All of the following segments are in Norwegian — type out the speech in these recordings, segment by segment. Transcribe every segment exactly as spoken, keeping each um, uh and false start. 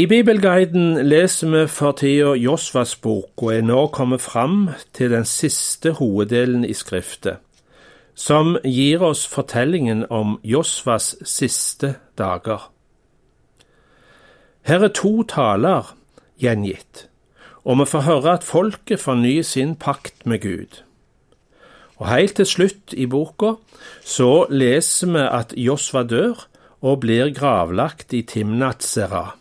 I Bibelguiden leser vi for tida Josvas bok, og er nå kommet fram til den siste hoveddelen i skriftet, som gir oss fortellingen om Josvas siste dager. Her er to taler gjengitt, og vi får høre at folket fornyer sin pakt med Gud. Og helt til slutt i boka så leser vi at Josva dør og blir gravlagt i Timnat-Serah.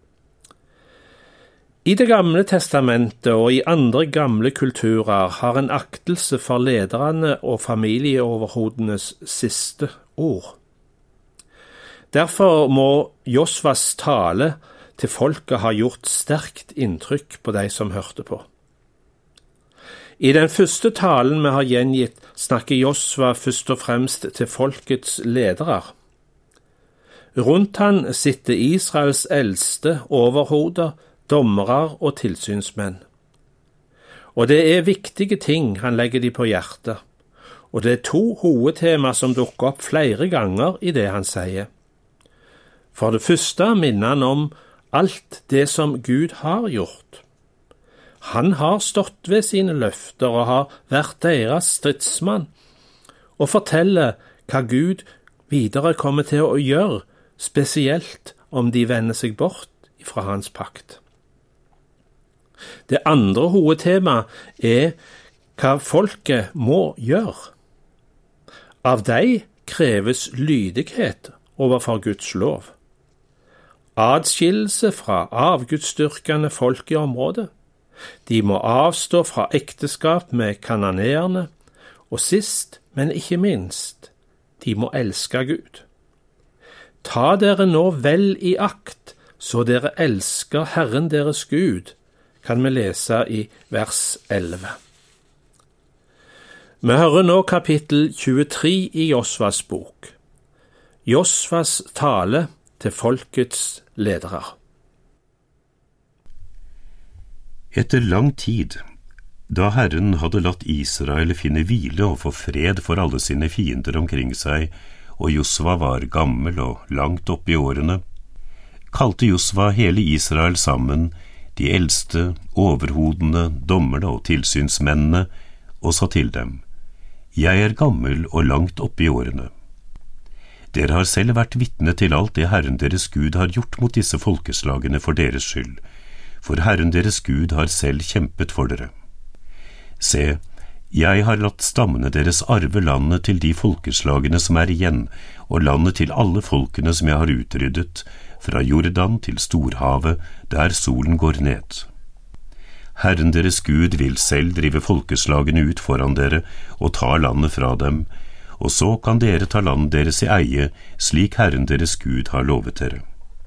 I Det gamle testamentet og i andre gamle kulturer har en aktelse for lederne og familieoverhodenes siste ord. Derfor må Josvas tale til folket ha gjort sterkt inntrykk på de som hørte på. I den første talen vi har gjengitt, snakker Josva først og fremst til folkets ledere. Rundt han sitter Israels eldste overhoder, dommere og tilsynsmenn. Og det er viktige ting han legger de på hjertet, og det er to hovedtema som dukker opp flere ganger i det han sier. For det første minner han om alt det som Gud har gjort. Han har stått ved sine løfter og har vært deres stridsmann, og forteller hva Gud videre kommer til å gjøre, spesielt om de vender seg bort fra hans pakt. Det andre hovedtemaet er hva folket må gjøre. Av dem kreves lydighet overfor Guds lov. Adskillelse fra avgudsdyrkende folk i området. De må avstå fra ekteskap med kananeerne, og sist, men ikke minst, de må elske Gud. Ta dere nå vel i akt, så dere elsker Herren deres Gud, kan vi lese i vers elleve. Vi hører nå kapittel tjuetre i Josvas bok. Josvas tale til folkets ledere. Etter lang tid, da Herren hadde latt Israel finne hvile og få fred for alle sine fiender omkring seg, og Josva var gammel og langt opp i årene, kalte Josva hele Israel sammen, de eldste, overhodene, dommerne og tilsynsmennene, og sa til dem, «Jeg er gammel og langt opp i årene. Dere har selv vært vitne til alt det Herren deres Gud har gjort mot disse folkeslagene for deres skyld, for Herren deres Gud har selv kjempet for dere. Se, jeg har latt stammene deres arve landet til de folkeslagene som er igjen, og landet til alle folkene som jeg har utryddet, fra Jordan til Storhavet, der solen går ned. Herren deres Gud vil selv drive folkeslagene ut foran dere og ta landet fra dem, og så kan dere ta landet deres i eie, slik Herren deres Gud har lovet dere.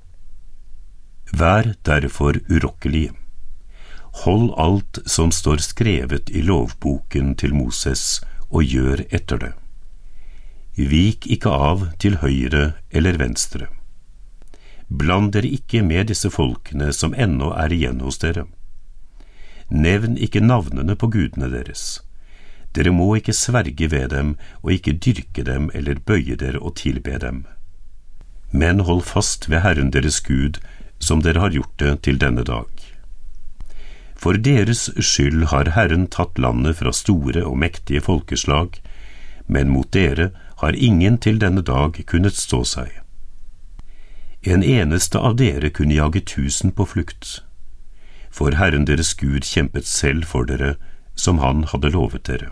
Vær derfor urokkelige. Hold alt som står skrevet i lovboken til Moses, og gjør etter det. Vik ikke av til høyre eller venstre. Bland dere ikke med disse folkene som ennå er igjen hos dere. Nevn ikke navnene på gudene deres. Dere må ikke sverge ved dem, og ikke dyrke dem eller bøye dere og tilbe dem. Men hold fast ved Herren deres Gud, som dere har gjort det til denne dag. For deres skyld har Herren tatt landet fra store og mektige folkeslag, men mot dere har ingen til denne dag kunnet stå seg. En eneste av dere kunne jage tusen på flukt, for Herren deres Gud kjempet selv for dere, som han hadde lovet dere.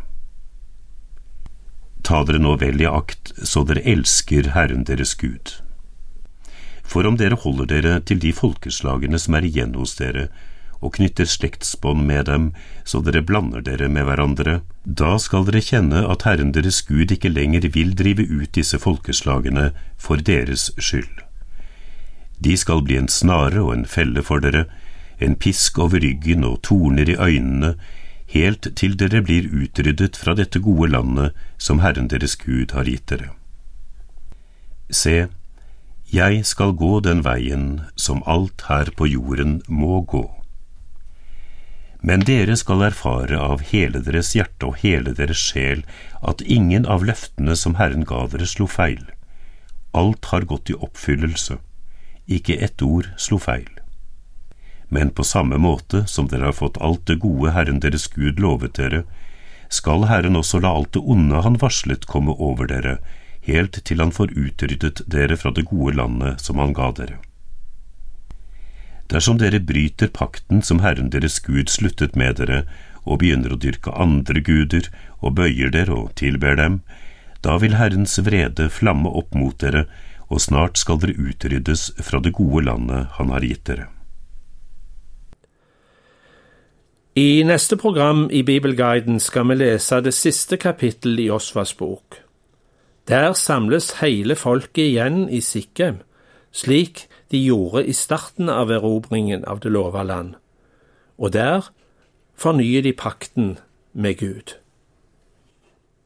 Ta dere nå vel i akt, så dere elsker Herren deres Gud. For om dere holder dere til de folkeslagene som er igjen hos dere, og knytter slektsbånd med dem, så dere blander dere med hverandre, da skal dere kjenne at Herren deres Gud ikke lenger vil drive ut disse folkeslagene for deres skyld. De skal bli en snare og en felle for dere, en pisk over ryggen og torner i øynene, helt til dere blir utryddet fra dette gode landet som Herren deres Gud har gitt dere. Se, jeg skal gå den veien som alt her på jorden må gå. Men dere skal erfare av hele deres hjerte og hele deres sjel at ingen av løftene som Herren ga dere slo feil. Alt har gått i oppfyllelse. Ikke ett ord slo feil. Men på samme måte som dere har fått alt det gode Herren deres Gud lovet dere, skal Herren også la alt det onde han varslet komme over dere, helt til han får utryddet dere fra det gode landet som han ga dere. Dersom dere bryter pakten som Herren deres Gud sluttet med dere, og begynner å dyrke andre guder, og bøyer dere og tilber dem, da vil Herrens vrede flamme opp mot dere, og snart skal dere utryddes fra det gode landet han har gitt dere. I neste program i Bibelguiden skal vi lese det siste kapittel i Josvas bok. Der samles hele folket igjen i Sikkem, slik de gjorde i starten av erobringen av det lova land, og der fornyer de pakten med Gud.